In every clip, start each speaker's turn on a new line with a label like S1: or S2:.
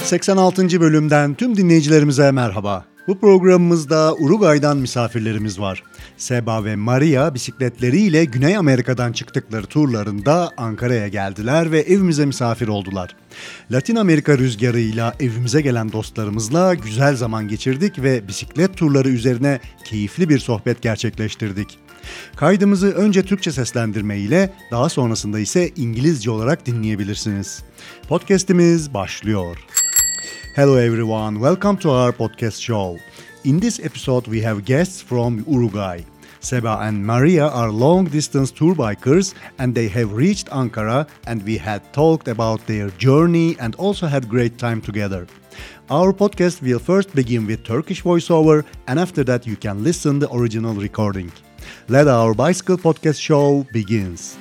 S1: 86. bölümden tüm dinleyicilerimize merhaba. Bu programımızda Uruguay'dan misafirlerimiz var. Seba ve Maria bisikletleriyle Güney Amerika'dan çıktıkları turlarında Ankara'ya geldiler ve evimize misafir oldular. Latin Amerika rüzgarıyla evimize gelen dostlarımızla güzel zaman geçirdik ve bisiklet turları üzerine keyifli bir sohbet gerçekleştirdik. Kaydımızı önce Türkçe seslendirme ile daha sonrasında ise İngilizce olarak dinleyebilirsiniz. Podcast'imiz başlıyor. Hello everyone, welcome to our podcast show. In this episode we have guests from Uruguay. Seba and Maria are long-distance tour bikers and they have reached Ankara and we had talked about their journey and also had great time together. Our podcast will first begin with Turkish voiceover and after that you can listen the original recording. Let our bicycle podcast show begins.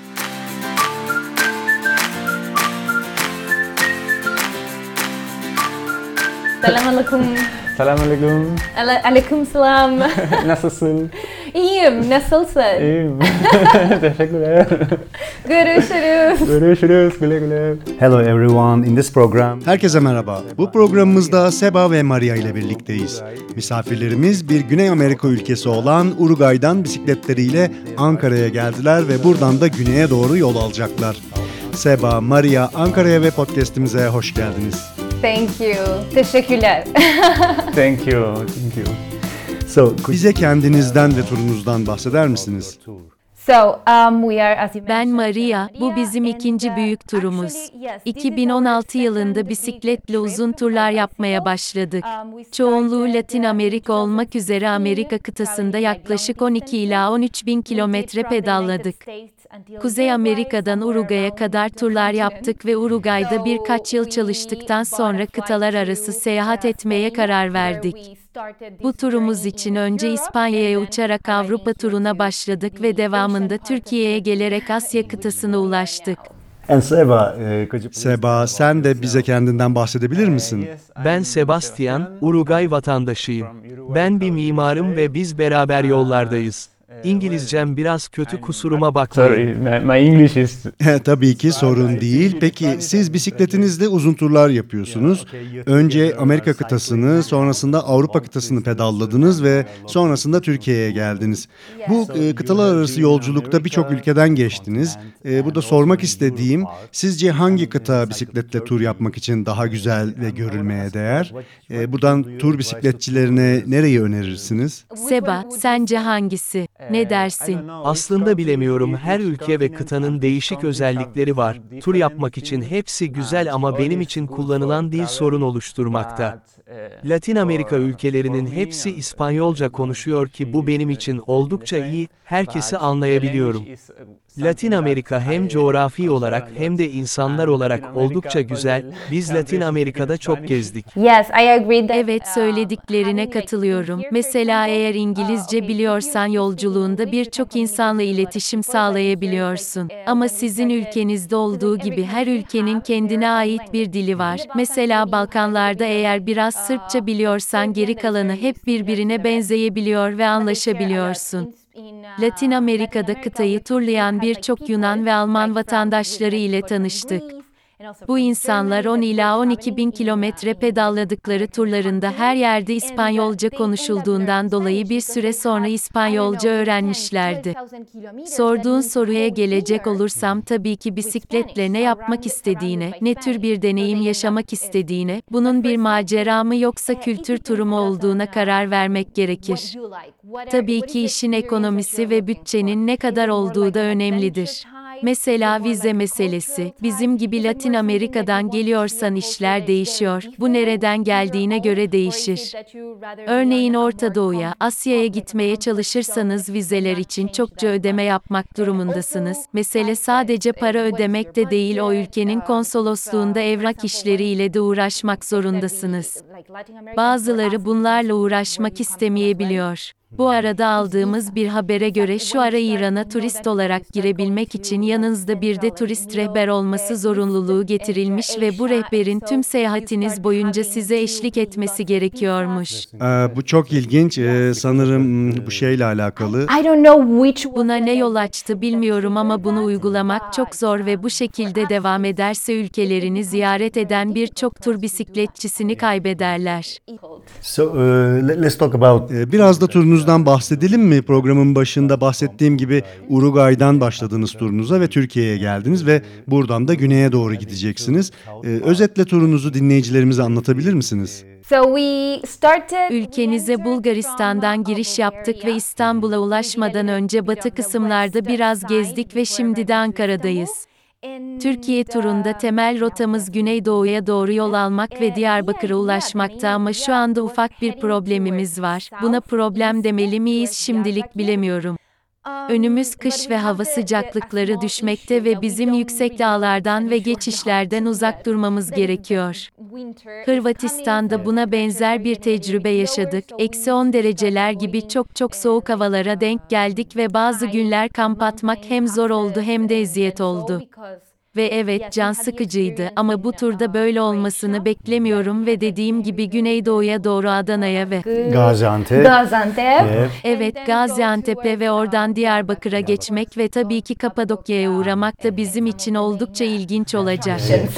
S2: Selamünaleyküm.
S3: Selamünaleyküm.
S2: Aleykümselam.
S3: Nasılsın?
S2: İyiyim. Nasılsın?
S3: İyiyim. Teşekkürler.
S2: Görüşürüz.
S3: Görüşürüz. Güle güle.
S1: Hello everyone, in this program. Herkese merhaba. Bu programımızda Seba ve Maria ile birlikteyiz. Misafirlerimiz bir Güney Amerika ülkesi olan Uruguay'dan bisikletleriyle Ankara'ya geldiler ve buradan da güneye doğru yol alacaklar. Seba, Maria, Ankara'ya ve podcast'imize hoş geldiniz.
S2: Thank you. Teşekkürler.
S3: Thank you. Thank you.
S1: Bize kendinizden ve turunuzdan bahseder misiniz?
S4: Ben Maria, bu bizim ikinci büyük turumuz. 2016 yılında bisikletle uzun turlar yapmaya başladık. Çoğunluğu Latin Amerika olmak üzere Amerika kıtasında yaklaşık 12 ila 13 bin kilometre pedalladık. Kuzey Amerika'dan Uruguay'a kadar turlar yaptık ve Uruguay'da birkaç yıl çalıştıktan sonra kıtalar arası seyahat etmeye karar verdik. Bu turumuz için önce İspanya'ya uçarak Avrupa turuna başladık ve devamında Türkiye'ye gelerek Asya kıtasına ulaştık.
S1: Seba, sen de bize kendinden bahsedebilir misin?
S5: Ben Sebastian, Uruguay vatandaşıyım. Ben bir mimarım ve biz beraber yollardayız. İngilizcem biraz kötü, kusuruma bakmayın.
S3: Sorry, my English is...
S1: Tabii ki sorun değil. Peki siz bisikletinizle uzun turlar yapıyorsunuz. Önce Amerika kıtasını, sonrasında Avrupa kıtasını pedalladınız ve sonrasında Türkiye'ye geldiniz. Bu kıtalar arası yolculukta birçok ülkeden geçtiniz. Burada sormak istediğim, sizce hangi kıta bisikletle tur yapmak için daha güzel ve görülmeye değer? Buradan tur bisikletçilerine nereyi önerirsiniz?
S4: Seba, sence hangisi? Ne dersin?
S5: Aslında bilemiyorum, her ülke ve kıtanın değişik özellikleri var. Tur yapmak için hepsi güzel ama benim için kullanılan dil sorun oluşturmakta. Latin Amerika ülkelerinin hepsi İspanyolca konuşuyor ki bu benim için oldukça iyi, herkesi anlayabiliyorum. Latin Amerika hem coğrafi olarak hem de insanlar olarak oldukça güzel, biz Latin Amerika'da çok gezdik.
S4: Evet, söylediklerine katılıyorum. Mesela eğer İngilizce biliyorsan yolculuğunda birçok insanla iletişim sağlayabiliyorsun. Ama sizin ülkenizde olduğu gibi her ülkenin kendine ait bir dili var. Mesela Balkanlarda eğer biraz Sırpça biliyorsan geri kalanı hep birbirine benzeyebiliyor ve anlaşabiliyorsun. Latin Amerika'da kıtayı turlayan birçok Yunan ve Alman vatandaşları ile tanıştık. Bu insanlar 10 ila 12 bin kilometre pedalladıkları turlarında her yerde İspanyolca konuşulduğundan dolayı bir süre sonra İspanyolca öğrenmişlerdi. Sorduğun soruya gelecek olursam tabii ki bisikletle ne yapmak istediğine, ne tür bir deneyim yaşamak istediğine, bunun bir macera mı yoksa kültür turu mu olduğuna karar vermek gerekir. Tabii ki işin ekonomisi ve bütçenin ne kadar olduğu da önemlidir. Mesela vize meselesi, bizim gibi Latin Amerika'dan geliyorsan işler değişiyor, bu nereden geldiğine göre değişir. Örneğin Orta Doğu'ya, Asya'ya gitmeye çalışırsanız vizeler için çokça ödeme yapmak durumundasınız. Mesele sadece para ödemek de değil, o ülkenin konsolosluğunda evrak işleriyle de uğraşmak zorundasınız. Bazıları bunlarla uğraşmak istemeyebiliyor. Bu arada aldığımız bir habere göre şu ara İran'a turist olarak girebilmek için yanınızda bir de turist rehber olması zorunluluğu getirilmiş ve bu rehberin tüm seyahatiniz boyunca size eşlik etmesi gerekiyormuş.
S1: Bu çok ilginç. Sanırım bu şeyle alakalı.
S2: I don't know which
S4: Buna ne yol açtı bilmiyorum ama bunu uygulamak çok zor ve bu şekilde devam ederse ülkelerini ziyaret eden birçok tur bisikletçisini kaybederler.
S6: So let's talk about
S1: Biraz da turunuzdan bahsedelim mi? Programın başında bahsettiğim gibi Uruguay'dan başladınız turunuza ve Türkiye'ye geldiniz ve buradan da güneye doğru gideceksiniz. Özetle turunuzu dinleyicilerimize anlatabilir misiniz?
S2: So we started
S4: Ülkenize Bulgaristan'dan giriş yaptık ve İstanbul'a ulaşmadan önce batı kısımlarda biraz gezdik ve şimdi de Ankara'dayız. Türkiye turunda temel rotamız Güneydoğu'ya doğru yol almak ve Diyarbakır'a ulaşmakta ama şu anda ufak bir problemimiz var. Buna problem demeli miyiz şimdilik bilemiyorum. Önümüz kış ve hava sıcaklıkları düşmekte ve bizim yüksek dağlardan ve geçişlerden uzak durmamız gerekiyor. Hırvatistan'da buna benzer bir tecrübe yaşadık. -10 dereceler gibi çok soğuk havalara denk geldik ve bazı günler kamp atmak hem zor oldu hem de eziyet oldu. Ve evet can sıkıcıydı ama bu turda böyle olmasını beklemiyorum ve dediğim gibi Güneydoğu'ya doğru Adana'ya ve
S6: Gaziantep.
S2: Gaziantep.
S4: evet Gaziantep'e ve oradan Diyarbakır'a geçmek ve tabii ki Kapadokya'ya uğramak da bizim için oldukça ilginç olacak.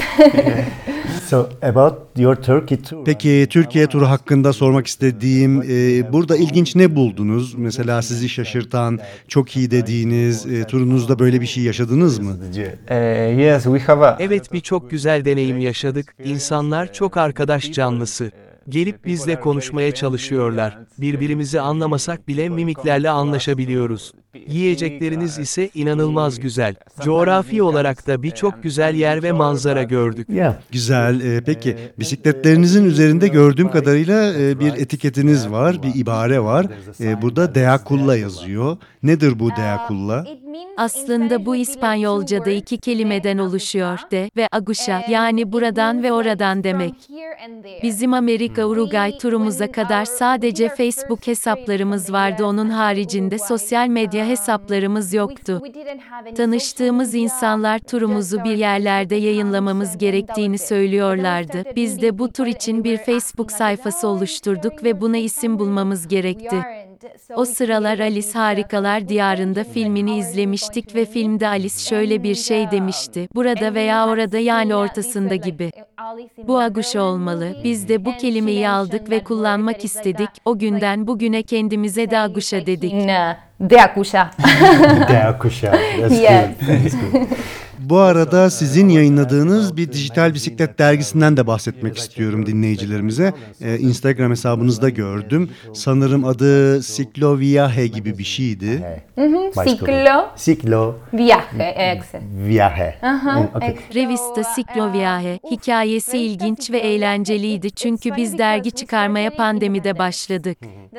S6: So about your Turkey tour.
S1: Peki Türkiye turu hakkında sormak istediğim, burada ilginç ne buldunuz? Mesela sizi şaşırtan, çok iyi dediğiniz, turunuzda böyle bir şey yaşadınız mı?
S3: Yes, we have a.
S5: Evet, birçok güzel deneyim yaşadık. İnsanlar çok arkadaş canlısı. Gelip bizle konuşmaya çalışıyorlar. Birbirimizi anlamasak bile mimiklerle anlaşabiliyoruz. Yiyecekleriniz ise inanılmaz güzel. Coğrafi olarak da birçok güzel yer ve manzara gördük.
S6: Yeah.
S1: Güzel. Peki bisikletlerinizin üzerinde gördüğüm kadarıyla bir etiketiniz var, bir ibare var. Burada Deakulla yazıyor. Nedir bu Deakulla?
S4: Aslında bu İspanyolca'da iki kelimeden oluşuyor de ve aguşa yani buradan ve oradan demek. Bizim Amerika-Uruguay turumuza kadar sadece Facebook hesaplarımız vardı, onun haricinde sosyal medya hesaplarımız yoktu. Tanıştığımız insanlar turumuzu bir yerlerde yayınlamamız gerektiğini söylüyorlardı. Biz de bu tur için bir Facebook sayfası oluşturduk ve buna isim bulmamız gerekti. O sıralar Alice Harikalar Diyarında filmini izlemiştik ve filmde Alice şöyle bir şey demişti: burada veya orada yani ortasında gibi. Bu aguşa olmalı. Biz de bu kelimeyi aldık ve kullanmak istedik. O günden bugüne kendimize de aguşa dedik.
S2: Deakusha.
S6: Deakusha. That's
S2: Yes.
S6: good. That's good.
S1: Bu arada sizin yayınladığınız bir dijital bisiklet dergisinden de bahsetmek istiyorum dinleyicilerimize. Instagram hesabınızda gördüm. Sanırım adı Ciclo Viaje gibi bir şeydi.
S2: Ciclo
S6: Ciclo
S2: Viaje. Excellent.
S6: Viaje. Okay.
S4: Revista Ciclo Viaje. Hikayesi ilginç ve eğlenceliydi çünkü biz dergi çıkarmaya pandemide başladık.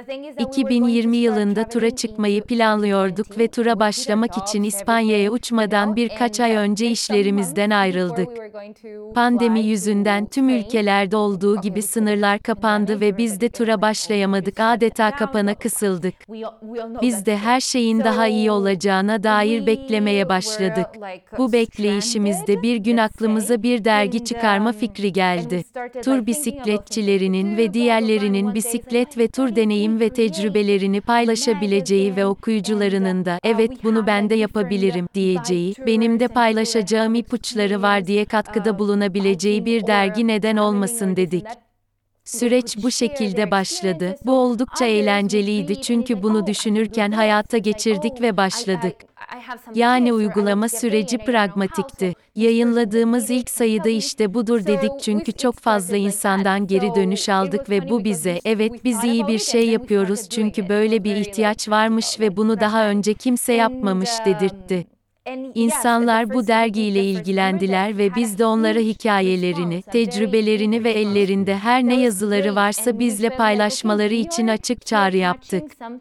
S4: 2020 yılında tura çıkmayı planlıyorduk ve tura başlamak için İspanya'ya uçmadan birkaç ay önce işlerimizden ayrıldık. Pandemi yüzünden tüm ülkelerde olduğu gibi sınırlar kapandı ve biz de tura başlayamadık, adeta kapana kısıldık. Biz de her şeyin daha iyi olacağına dair beklemeye başladık. Bu bekleyişimizde bir gün aklımıza bir dergi çıkarma fikri geldi. Tur bisikletçilerinin ve diğerlerinin bisiklet ve tur deneyim ve tecrübelerini paylaşabileceği ve okuyucularının da "evet bunu ben de yapabilirim" diyeceği, benim de paylaşacağım ipuçları var diye katkıda bulunabileceği bir dergi neden olmasın dedik. Süreç bu şekilde başladı. Bu oldukça eğlenceliydi çünkü bunu düşünürken hayata geçirdik ve başladık. Yani uygulama süreci pragmatikti. Yayınladığımız ilk sayıda işte budur dedik çünkü çok fazla insandan geri dönüş aldık ve bu bize "evet biz iyi bir şey yapıyoruz çünkü böyle bir ihtiyaç varmış ve bunu daha önce kimse yapmamış" dedirtti. İnsanlar bu dergiyle ilgilendiler ve biz de onlara hikayelerini, tecrübelerini ve ellerinde her ne yazıları varsa bizle paylaşmaları için açık çağrı yaptık.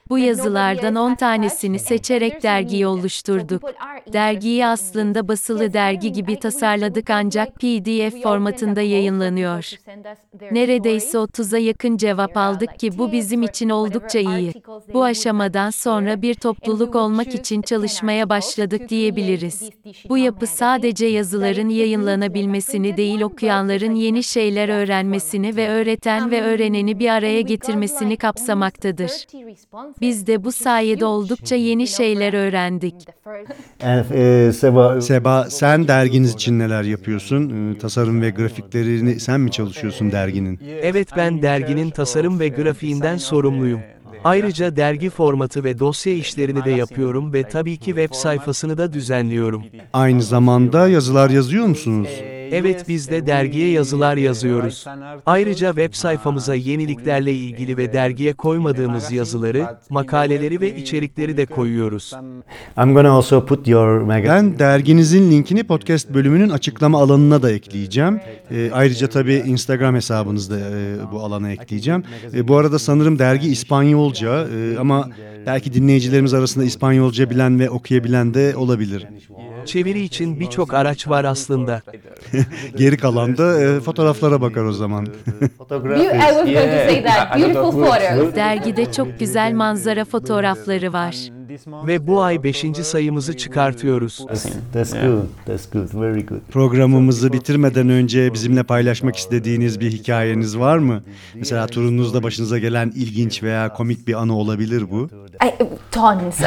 S4: Bu yazılardan 10 tanesini seçerek dergiyi oluşturduk. Dergiyi aslında basılı dergi gibi tasarladık ancak PDF formatında yayınlanıyor. Neredeyse 30'a yakın cevap aldık ki bu bizim için oldukça iyi. Bu aşamadan sonra bir topluluk olmak için çalışmaya başladık diyebiliriz. Bu yapı sadece yazıların yayınlanabilmesini değil, okuyanların yeni şeyler öğrenmesini ve öğreten ve öğreneni bir araya getirmesini kapsamaktadır. Biz de bu sayede oldukça yeni şeyler öğrendik.
S6: And Seba,
S1: Seba, sen derginiz için neler yapıyorsun? Tasarım ve grafiklerini sen mi çalışıyorsun derginin?
S5: Evet, ben derginin tasarım ve grafiğinden sorumluyum. Ayrıca dergi formatı ve dosya işlerini de yapıyorum ve tabii ki web sayfasını da düzenliyorum.
S1: Aynı zamanda yazılar yazıyor musunuz?
S5: Evet, biz de dergiye yazılar yazıyoruz. Ayrıca web sayfamıza yeniliklerle ilgili ve dergiye koymadığımız yazıları, makaleleri ve içerikleri de koyuyoruz.
S6: I'm gonna also put your magazine.
S1: Ben derginizin linkini podcast bölümünün açıklama alanına da ekleyeceğim. Ayrıca tabii Instagram hesabınızda bu alana ekleyeceğim. Bu arada sanırım dergi İspanyolca ama belki dinleyicilerimiz arasında İspanyolca bilen ve okuyabilen de olabilir.
S5: Çeviri için birçok araç var aslında.
S1: Geri kalan da fotoğraflara bakar o zaman.
S2: I was going to say that. Beautiful photos.
S4: Dergide çok güzel manzara fotoğrafları var.
S5: Ve bu ay 5. sayımızı çıkartıyoruz.
S6: That's good. That's good. Very good.
S1: Programımızı bitirmeden önce bizimle paylaşmak istediğiniz bir hikayeniz var mı? Mesela turunuzda başınıza gelen ilginç veya komik bir anı olabilir bu.
S2: Tons.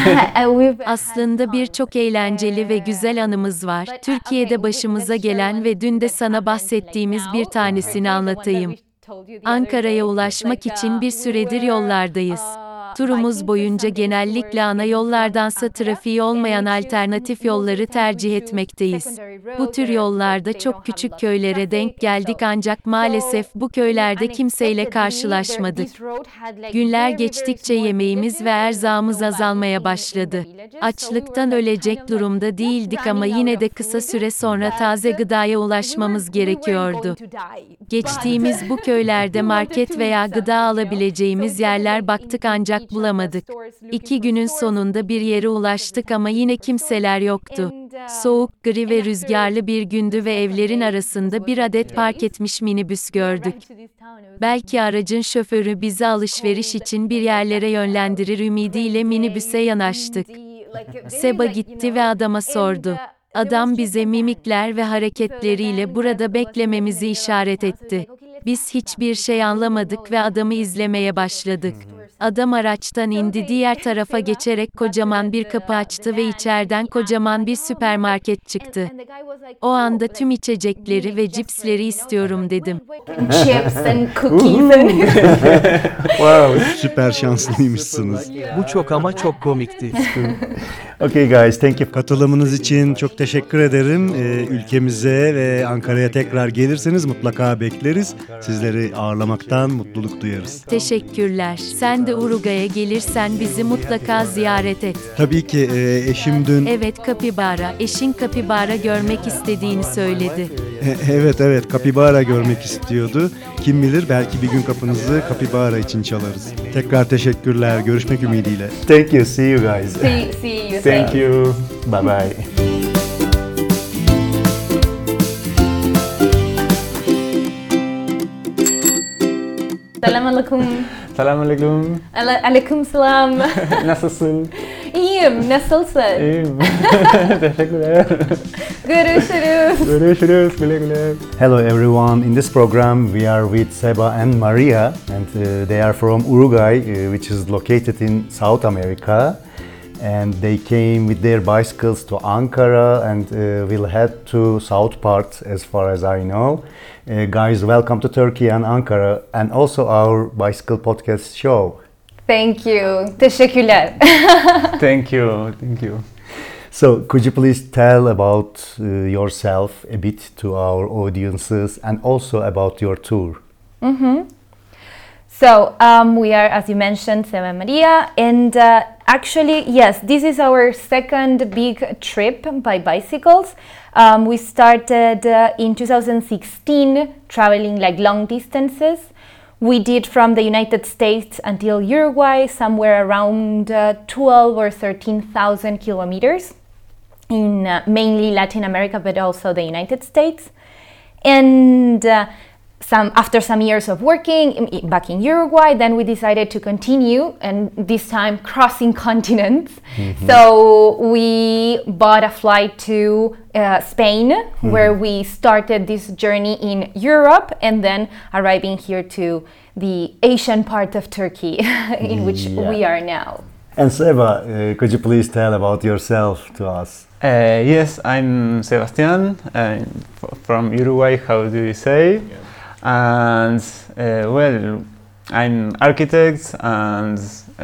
S4: Aslında birçok eğlenceli ve güzel anımız var. Türkiye'de başımıza gelen ve dün de sana bahsettiğimiz bir tanesini anlatayım. Ankara'ya ulaşmak için bir süredir yollardayız. Turumuz boyunca genellikle ana yollardansa trafiği olmayan alternatif yolları tercih etmekteyiz. Bu tür yollarda çok küçük köylere denk geldik ancak maalesef bu köylerde kimseyle karşılaşmadık. Günler geçtikçe yemeğimiz ve erzağımız azalmaya başladı. Açlıktan ölecek durumda değildik ama yine de kısa süre sonra taze gıdaya ulaşmamız gerekiyordu. Geçtiğimiz bu köylerde market veya gıda alabileceğimiz yerler baktık ancak bulamadık. 2 günün sonunda bir yere ulaştık ama yine kimseler yoktu. Soğuk, gri ve rüzgarlı bir gündü ve evlerin arasında bir adet park etmiş minibüs gördük. Belki aracın şoförü bizi alışveriş için bir yerlere yönlendirir ümidiyle minibüse yanaştık. Seba gitti ve adama sordu. Adam bize mimikler ve hareketleriyle burada beklememizi işaret etti. Biz hiçbir şey anlamadık ve adamı izlemeye başladık. Adam araçtan indi, diğer tarafa geçerek kocaman bir kapı açtı ve içeriden kocaman bir süpermarket çıktı. O anda tüm içecekleri ve cipsleri istiyorum dedim.
S2: Chips and cookies and
S6: Wow.
S1: Süper şanslıymışsınız.
S5: Bu çok ama çok komikti.
S6: Okay, guys. Thank you.
S1: Katılımınız için çok teşekkür ederim. Ülkemize ve Ankara'ya tekrar gelirseniz mutlaka bekleriz. Sizleri ağırlamaktan mutluluk duyarız.
S4: Teşekkürler. Sen de Uruguay'a gelirsen bizi mutlaka ziyaret et.
S1: Tabii ki eşim dün...
S4: Evet, kapibara. Eşin kapibara görmek istediğini söyledi.
S1: Evet, kapibara görmek istiyordu. Kim bilir belki bir gün kapınızı kapibara için çalarız. Tekrar teşekkürler. Görüşmek ümidiyle.
S6: Thank you. See you guys.
S2: see you.
S6: Thank you. Bye bye.
S2: Selamünaleyküm.
S3: Selamünaleyküm.
S2: Aleykümselam.
S3: Nasılsın?
S2: İyiyim. Nasılsın?
S3: İyiyim. Teşekkürler.
S2: Görüşürüz.
S3: Görüşürüz. Güle güle.
S6: Hello everyone. In this program we are with Seba and Maria, and they are from Uruguay, which is located in South America. And they came with their bicycles to Ankara and will head to south part as far as I know. Guys, welcome to Turkey and Ankara and also our bicycle podcast show.
S2: Thank you. Teşekkürler.
S3: Thank you. Thank you.
S6: So, could you please tell about yourself a bit to our audiences and also about your tour?
S2: So, we are, as you mentioned, Seba and Maria, and actually, yes, this is our second big trip by bicycles. We started in 2016, traveling like long distances. We did from the United States until Uruguay, somewhere around 12 or 13,000 kilometers in mainly Latin America, but also the United States. And after some years of working back in Uruguay, then we decided to continue, and this time crossing continents. So we bought a flight to Spain, where we started this journey in Europe, and then arriving here to the Asian part of Turkey, in which we are now.
S6: And Seba, could you please tell about yourself to us?
S3: Yes, I'm Sebastián, from Uruguay, how do you say? And well, I'm architect and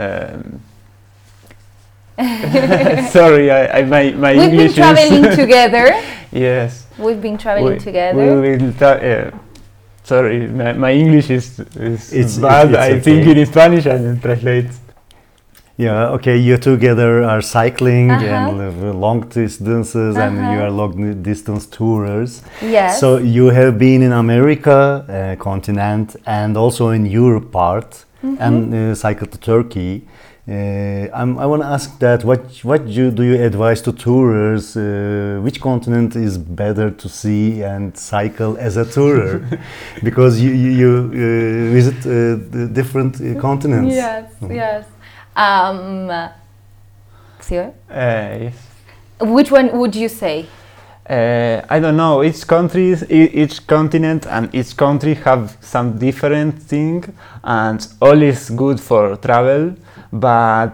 S3: sorry, my
S2: We've
S3: English
S2: been traveling
S3: is
S2: together.
S3: yes.
S2: We've been traveling together.
S3: We will sorry, my English is
S6: It's
S3: bad.
S6: it's
S3: I
S6: okay.
S3: think in Spanish and translate.
S6: Yeah, okay, you together are cycling
S2: Uh-huh.
S6: and live long distances and you are long distance tourers.
S2: Yes.
S6: So you have been in America continent and also in Europe part and cycled to Turkey. I want to ask that what do you advise to tourers? Which continent is better to see and cycle as a tourer? Because you visit the different continents.
S2: Yes, yes. Sio?
S3: Yes.
S2: Which one would you say?
S3: I don't know. Each continent, and each country have some different thing, and all is good for travel. But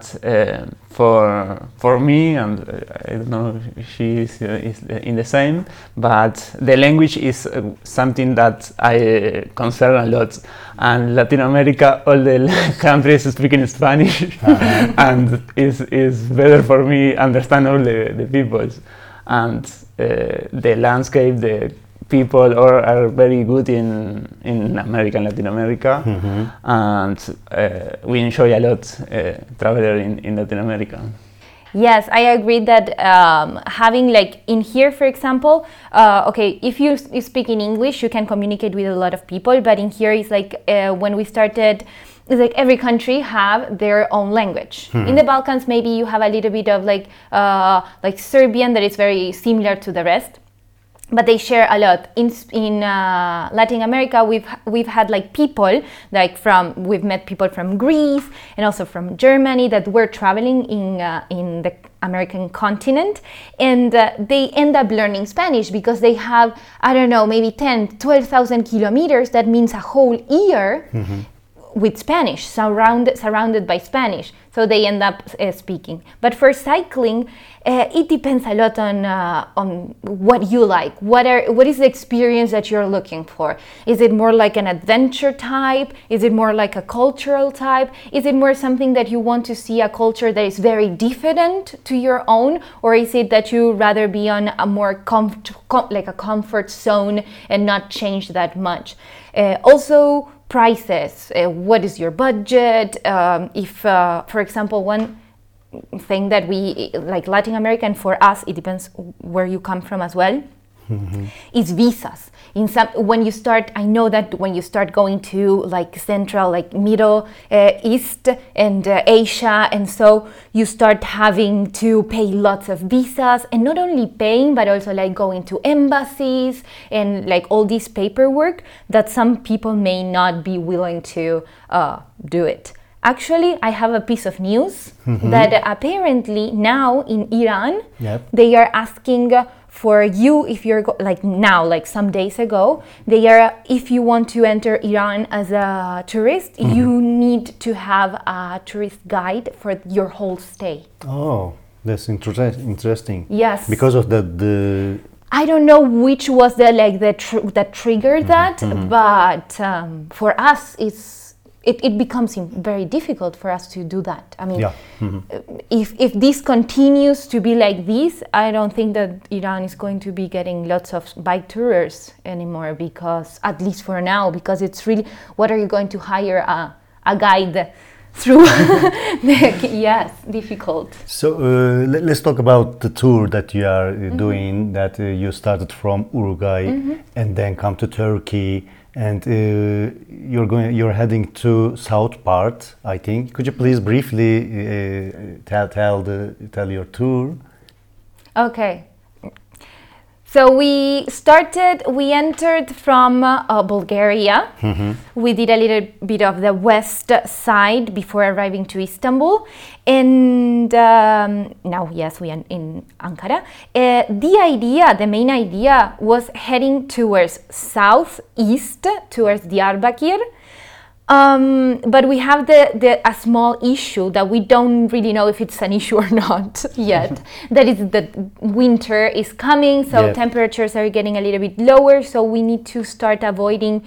S3: for me, and I don't know, if she is in the same. But the language is something that I concern a lot. And Latin America, all the countries speaking Spanish, and is better for me understand all the peoples. And the landscape, the people are very good in America and Latin America, and we enjoy a lot traveler in Latin America.
S2: Yes, I agree that having like in here, for example, okay, if you speak in English, you can communicate with a lot of people, but in here it's like when we started, it's like every country have their own language. In the Balkans, maybe you have a little bit of like Serbian that is very similar to the rest, but they share a lot. In Latin America, we've had like people like we've met people from Greece and also from Germany that were traveling in the American continent, and they end up learning Spanish because they have, I don't know, maybe 12,000 kilometers. That means a whole year with Spanish, surrounded by Spanish, so they end up speaking. But for cycling, it depends a lot on what you like. What is the experience that you're looking for? Is it more like an adventure type? Is it more like a cultural type? Is it more something that you want to see a culture that is very different to your own, or is it that you rather be on a more like a comfort zone and not change that much? Also, prices. What is your budget? If, for example, one thing that we like Latin America, and for us it depends where you come from as well, is visas. When you start, I know that when you start going to like Central, like Middle East and Asia, and so you start having to pay lots of visas, and not only paying, but also like going to embassies and like all this paperwork that some people may not be willing to do it. Actually, I have a piece of news that apparently now in Iran, they are asking for you, if you're like now, like some days ago, if you want to enter Iran as a tourist, you need to have a tourist guide for your whole stay.
S6: Oh, that's interesting.
S2: Yes.
S6: Because of the
S2: I don't know which was that triggered that, but for us, it becomes very difficult for us to do that. I mean, if this continues to be like this, I don't think that Iran is going to be getting lots of bike tours anymore, because at least for now, because it's really, what are you going to hire a guide through yes, difficult.
S6: So let's talk about the tour that you are doing. That you started from Uruguay and then come to Turkey, and you're heading to south part, I think. Could you please briefly tell your tour?
S2: Okay. So we entered from Bulgaria. We did a little bit of the west side before arriving to Istanbul. And now, yes, we are in Ankara. The main idea was heading towards southeast, towards Diyarbakir. But we have a small issue that we don't really know if it's an issue or not yet. That is that winter is coming, so temperatures are getting a little bit lower, so we need to start avoiding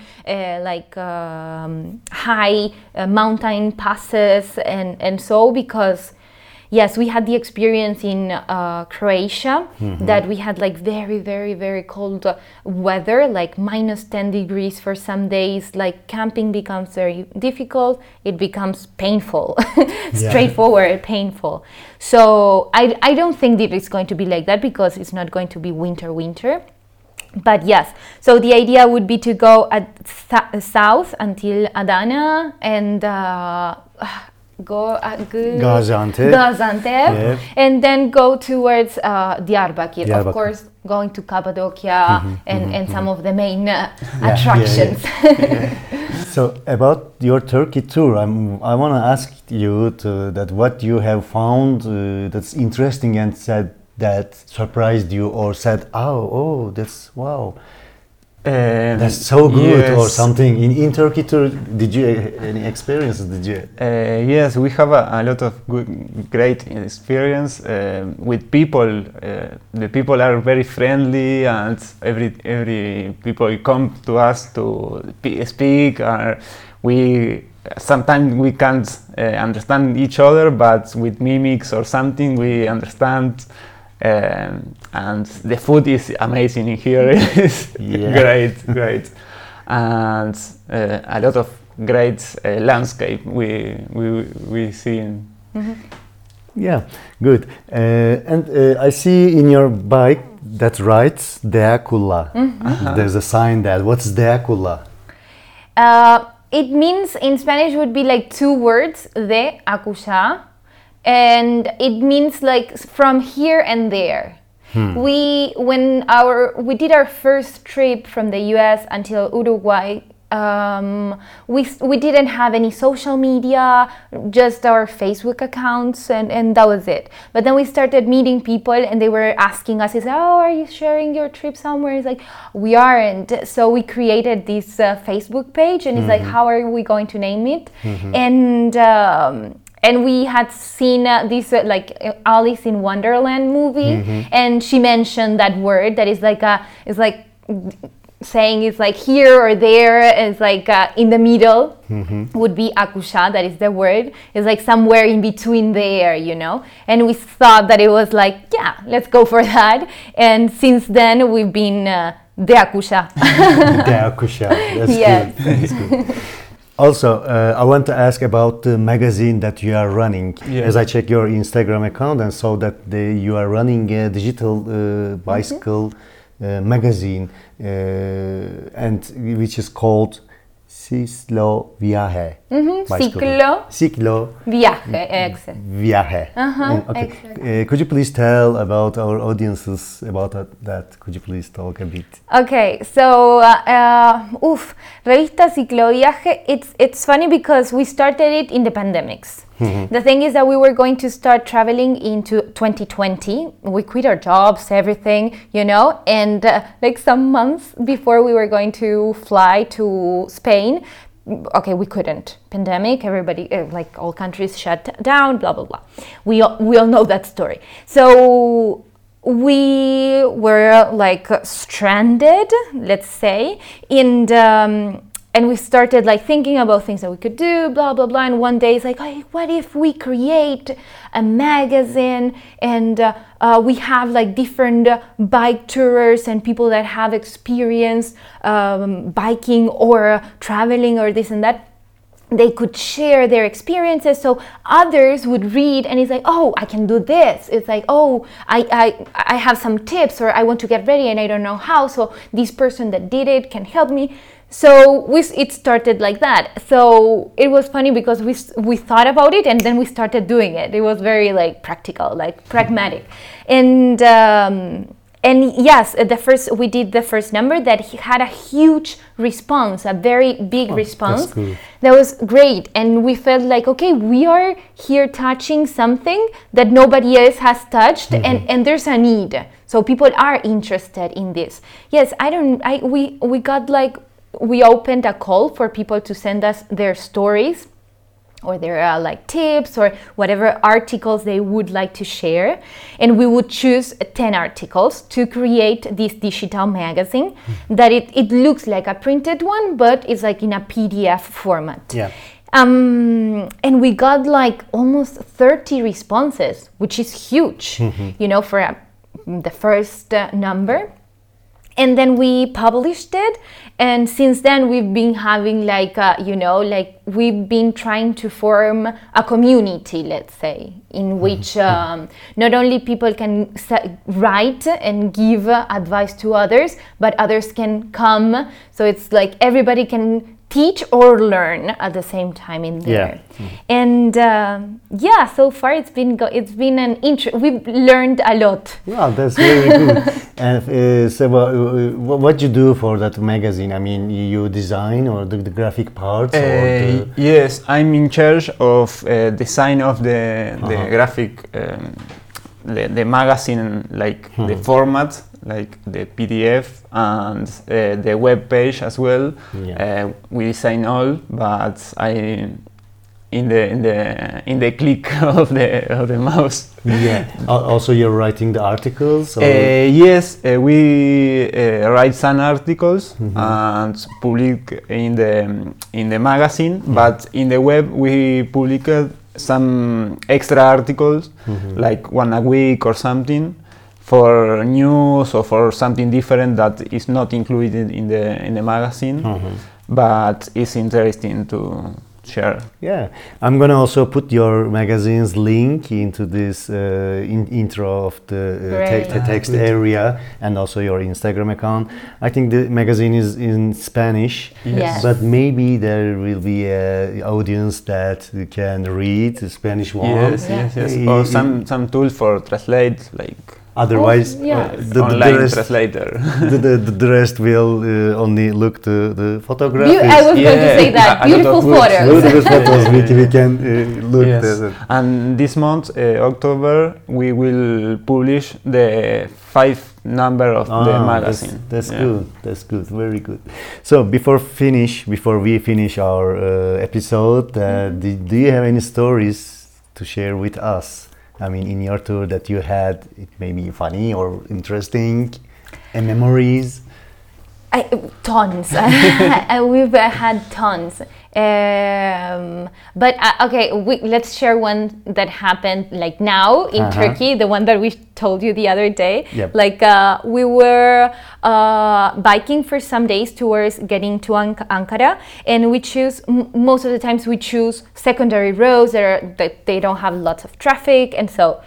S2: high mountain passes and so, because yes, we had the experience in Croatia that we had like very, very, very cold weather, like minus 10 degrees for some days. Like camping becomes very difficult. It becomes painful, straightforward, painful. So I don't think that it's going to be like that, because it's not going to be winter. But yes, so the idea would be to go south until Adana and Gaziantep, and then go towards Diyarbakir. Of course, going to Cappadocia and some of the main attractions.
S6: So about your Turkey tour, I want to ask you that what you have found that's interesting and said that surprised you, or said, oh, that's wow. That's so good, or something in Turkey tour. Did you any experiences?
S3: Yes, we have a lot of great experience with people. The people are very friendly, and every people come to us to speak. Sometimes we can't understand each other, but with mimics or something we understand. And the food is amazing in here. It's great, and a lot of great landscape we see.
S6: Yeah, good. And I see in your bike that writes Deakulla. There's a sign there. What's Deakulla?
S2: It means, in Spanish, would be like two words, de akusha. And it means like from here and there. We did our first trip from the US until Uruguay, we didn't have any social media, just our Facebook accounts, and that was it. But then we started meeting people, and they were asking us, are you sharing your trip somewhere? It's like, we aren't. So we created this Facebook page, and it's like, how are we going to name it? And we had seen this like Alice in Wonderland movie, and she mentioned that word that is like saying it's like here or there. It's like in the middle would be akusha, that is the word. It's like somewhere in between there, And we thought that it was like, yeah, let's go for that. And since then we've been de akusha.
S6: De akusha, that's good. That's good. Also, I want to ask about the magazine that you are running. As I check your Instagram account and saw that you are running a digital bicycle magazine, and which is called Ciclo Viaje. Ciclo
S2: Viaje, exactly.
S6: Viaje. Okay. Could you please tell about our audiences about that? Could you please talk a bit?
S2: Okay, so Revista Ciclo Viaje, it's funny because we started it in the pandemics. The thing is that we were going to start traveling into 2020. We quit our jobs, everything, and like some months before we were going to fly to Spain, okay, we couldn't. Pandemic, everybody, like all countries shut down, blah, blah, blah. We all know that story. So we were like stranded, let's say, and we started like thinking about things that we could do, blah, blah, blah. And one day it's like, hey, what if we create a magazine and we have like different bike tourers and people that have experience biking or traveling or this and that. they could share their experiences, so others would read and it's like, oh, I can do this. It's like, oh, I have some tips, or I want to get ready and I don't know how, so this person that did it can help me. So it started like that. So it was funny because we thought about it and then we started doing it. It was very like practical, like pragmatic. And yes, we did the first number that he had a huge response, a very big response.
S6: That's cool.
S2: That was great. And we felt like, okay, we are here touching something that nobody else has touched, and there's a need. So people are interested in this. Yes, we opened a call for people to send us their stories or their like tips or whatever articles they would like to share, and we would choose 10 articles to create this digital magazine that it looks like a printed one, but it's like in a PDF format.
S6: Yeah.
S2: And we got like almost 30 responses, which is huge, for the first number. And then we published it, and since then we've been having we've been trying to form a community, let's say, in which not only people can write and give advice to others, but others can come. So it's like everybody can teach or learn at the same time in there. And so far it's been we've learned a lot.
S6: Wow, that's very good. And Seba, what you do for that magazine? I mean, you design or the graphic parts?
S3: Yes, I'm in charge of design of the graphic, the magazine, like the format, like the PDF and the web page as well.
S6: Yeah.
S3: We design all, but I in the click of the mouse.
S6: Yeah. Also, you're writing the articles.
S3: Yes, we write some articles and public in the magazine, but in the web we public some extra articles, like one a week or something, for news or for something different that is not included in the magazine, but it's interesting to share.
S6: Yeah, I'm gonna also put your magazine's link into this intro of the text area, and also your Instagram account. I think the magazine is in Spanish,
S2: Yes.
S6: but maybe there will be an audience that can read the Spanish one.
S3: Yes. Or some tool for translate, like
S6: Otherwise,
S3: the online translator.
S6: the rest will only look to the photographs.
S2: I was going to say that. Beautiful photos.
S6: Beautiful photos. We can look at it.
S3: And this month, October, we will publish the 5th number of the magazine.
S6: That's good. That's good. Very good. So before we finish our episode, do you have any stories to share with us? I mean, in your tour that you had, it may be funny or interesting, and memories.
S2: Tons. We've had tons. But okay, let's share one that happened like now in Turkey, the one that we told you the other day.
S6: Yep.
S2: Like we were biking for some days towards getting to Ankara, and we choose, most of the times we choose secondary roads that they don't have lots of traffic, and so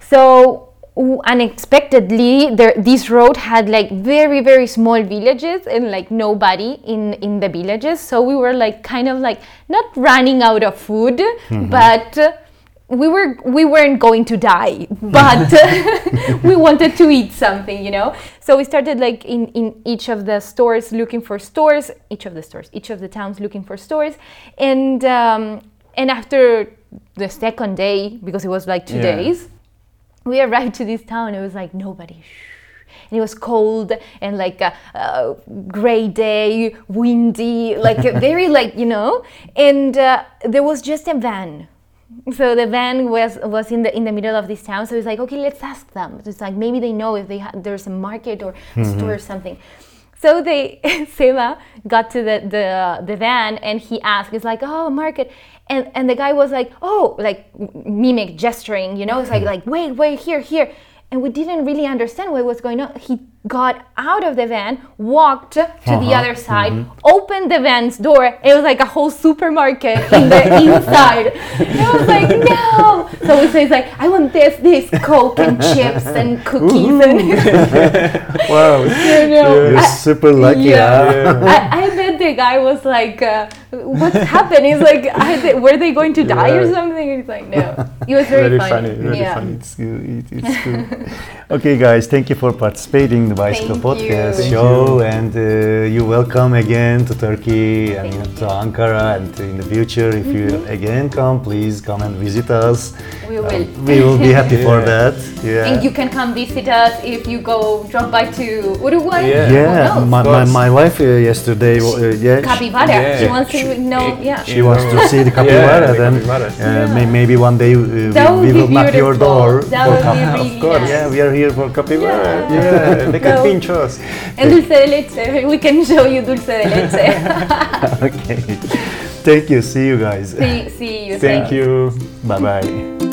S2: unexpectedly this road had like very, very small villages and like nobody in the villages, so we were like kind of like not running out of food, but we weren't going to die, but we wanted to eat something, so we started like in each of the stores looking for stores, each of the towns looking for stores, and after the second day, because it was like 2 days, we arrived to this town. It was like nobody, and it was cold and like a gray day, windy, like very like and there was just a van. So the van was in the middle of this town. So it's like, okay, let's ask them. It's like maybe they know if there's a market or a store or something. So Seba got to the van and he asked, it's like, oh, market. And the guy was like, oh, like mimic gesturing, it's like wait, here. and we didn't really understand what was going on. He got out of the van, walked to the other side, opened the van's door. It was like a whole supermarket in the inside. And I was like, no. So we say, like, I want this Coke and chips and cookies. And
S6: Wow,
S2: you know,
S6: you're super lucky.
S2: I bet the guy was like, what's happened? He's like, were they going to die or something? He's like, no. It was very funny.
S6: Very funny. It's good. It's good. Okay, guys, thank you for participating in the Bicycle
S2: Thank
S6: Podcast
S2: you.
S6: show, and you're welcome again to Turkey and to Ankara, and in the future, if you again come, please come and visit us.
S2: We will.
S6: We will be happy for that. Yeah.
S2: And you can come visit us if you drop by to Uruguay.
S3: Yeah.
S6: Yeah,
S2: Who knows?
S6: my wife yesterday,
S2: Capybara.
S3: Yeah.
S2: She wants to know. Yeah.
S6: she wants to see the capybara.
S3: the
S6: Then
S3: capybaras.
S6: maybe one day
S2: That would
S6: we
S2: be
S6: will knock your
S2: beautiful.
S6: door.
S2: That
S6: for
S2: would be
S6: capybara.
S2: really
S6: Of course,
S2: nice.
S6: yeah, we are here for capybara.
S3: Yeah, they can
S2: So-
S3: pinch us.
S2: And dulce de leche. We can show you dulce de leche.
S6: Okay. Thank you. See you guys.
S2: see you.
S3: Thank you.
S6: Bye bye.